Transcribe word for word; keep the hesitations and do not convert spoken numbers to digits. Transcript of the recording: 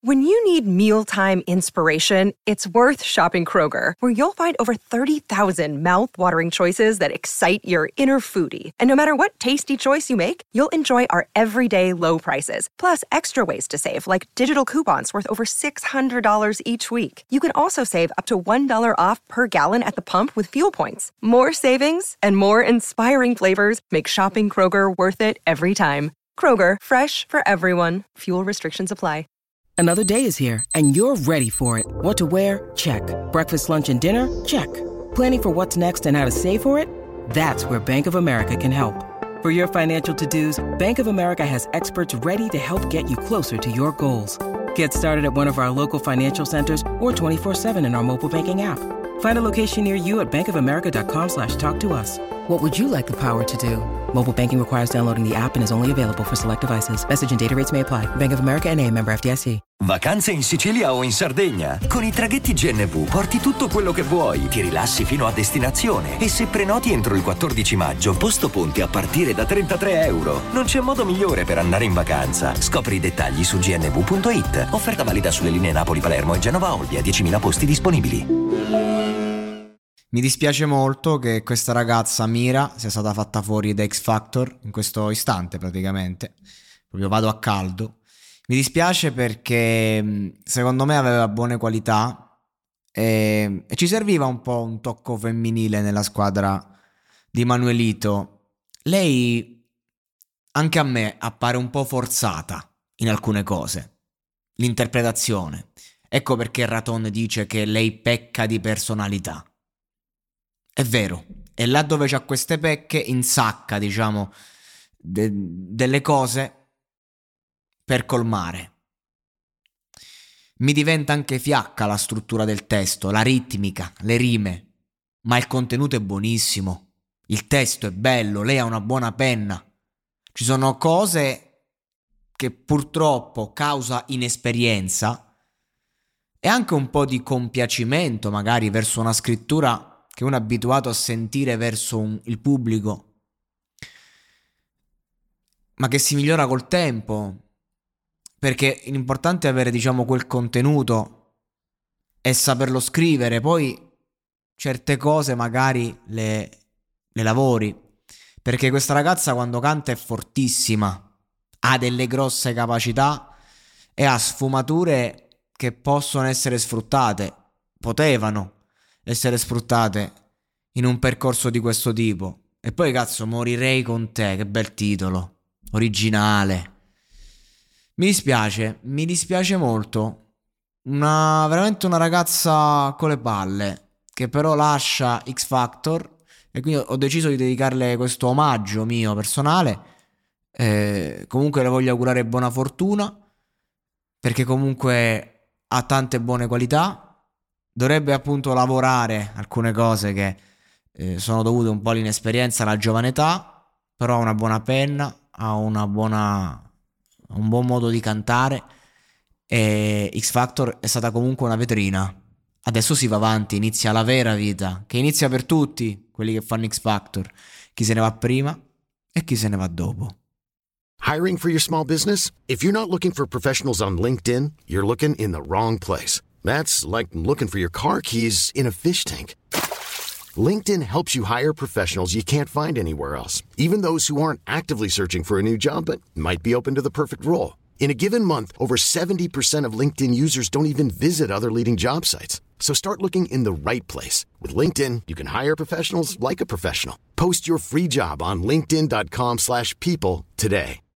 When you need mealtime inspiration, it's worth shopping Kroger, where you'll find over thirty thousand mouth-watering choices that excite your inner foodie. And no matter what tasty choice you make, you'll enjoy our everyday low prices, plus extra ways to save, like digital coupons worth over six hundred dollars each week. You can also save up to one dollar off per gallon at the pump with fuel points. More savings and more inspiring flavors make shopping Kroger worth it every time. Kroger, fresh for everyone. Fuel restrictions apply. Another day is here, and you're ready for it. What to wear? Check. Breakfast, lunch, and dinner? Check. Planning for what's next and how to save for it? That's where Bank of America can help. For your financial to-dos, Bank of America has experts ready to help get you closer to your goals. Get started at one of our local financial centers or twenty-four seven in our mobile banking app. Find a location near you at bankofamerica.com slash talk to us. What would you like the power to do? Mobile banking requires downloading the app and is only available for select devices. Message and data rates may apply. Bank of America N A, member F D I C. Vacanze in Sicilia o in Sardegna? Con i traghetti G N V porti tutto quello che vuoi, ti rilassi fino a destinazione e se prenoti entro il quattordici maggio, posto ponti a partire da trentatré euro. Non c'è modo migliore per andare in vacanza. Scopri i dettagli su g n v punto i t. Offerta valida sulle linee Napoli-Palermo e Genova-Olbia, diecimila posti disponibili. Mi dispiace molto che questa ragazza Mira sia stata fatta fuori da X Factor in questo istante praticamente. Proprio vado a caldo. Mi dispiace perché secondo me aveva buone qualità e, e ci serviva un po' un tocco femminile nella squadra di Manuelito. Lei anche a me appare un po' forzata in alcune cose. L'interpretazione. Ecco perché Raton dice che lei pecca di personalità. È vero, e là dove c'ha queste pecche insacca, diciamo, de- delle cose per colmare. Mi diventa anche fiacca la struttura del testo, la ritmica, le rime, ma il contenuto è buonissimo, il testo è bello, lei ha una buona penna. Ci sono cose che purtroppo causa inesperienza e anche un po' di compiacimento magari verso una scrittura che uno è abituato a sentire verso un, il pubblico, ma che si migliora col tempo, perché l'importante è avere, diciamo, quel contenuto e saperlo scrivere. Poi certe cose magari le, le lavori, perché questa ragazza quando canta è fortissima, ha delle grosse capacità e ha sfumature che possono essere sfruttate, potevano essere sfruttate in un percorso di questo tipo. E poi cazzo, Morirei con te, che bel titolo, originale. Mi dispiace, mi dispiace molto. Una veramente una ragazza con le palle, che però lascia X Factor, e quindi ho deciso di dedicarle questo omaggio mio personale. Eh, comunque le voglio augurare buona fortuna, perché comunque ha tante buone qualità. Dovrebbe appunto lavorare alcune cose che eh, sono dovute un po' all'inesperienza, alla giovane età, però ha una buona penna, ha una buona, un buon modo di cantare e X Factor è stata comunque una vetrina. Adesso si va avanti, inizia la vera vita, che inizia per tutti quelli che fanno X Factor, chi se ne va prima e chi se ne va dopo. Hiring for your small business? If you're not looking for professionals on LinkedIn, you're looking in the wrong place. That's like looking for your car keys in a fish tank. LinkedIn helps you hire professionals you can't find anywhere else, even those who aren't actively searching for a new job but might be open to the perfect role. In a given month, over seventy percent of LinkedIn users don't even visit other leading job sites. So start looking in the right place. With LinkedIn, you can hire professionals like a professional. Post your free job on linkedin dot com slash people today.